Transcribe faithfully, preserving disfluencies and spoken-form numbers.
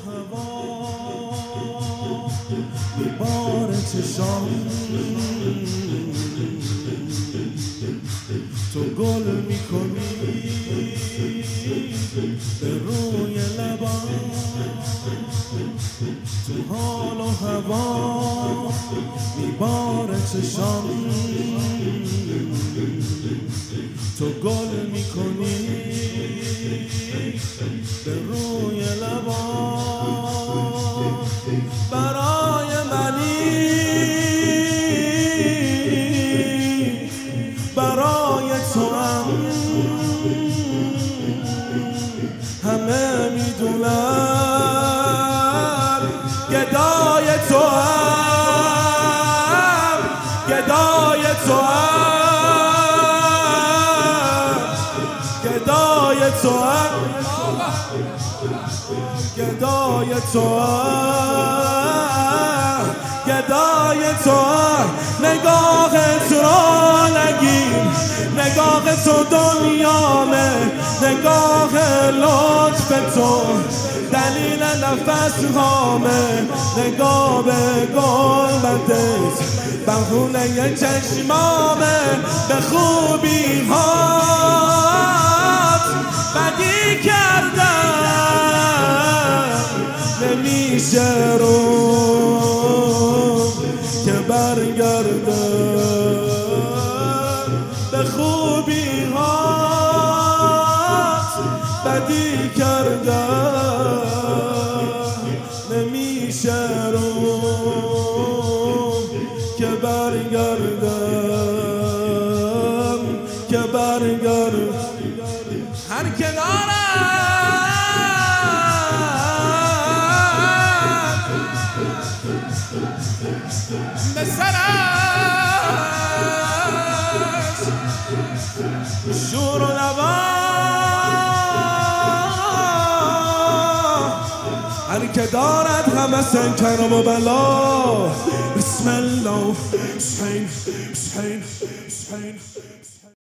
هوا میباره چشام، تو گل میکنی به روی لبام، تو حال و هوا میباره چشام، تو گل میکنی به روی لبام، برای منی برای تو هم همه میدونم، گدای تو هم گدای تو هم گدای تو هم گدای تو هم گدای تو هم نگاه تو را نگیر، نگاه تو دنیامه، نگاه لطف تو دلیل نفس هامه، نگاه به گلبدت بهونه چشمامه، به خوبی هات بدی کردم نمیشه رو که برگردم، به خوبی هات بدی کردم نمیشه رو که برگردم که برگردم هر کنارم به سرش شور و نوا، هر که دارد همه سنکرم و بلا، بسم الله بسحین بسحین بسحین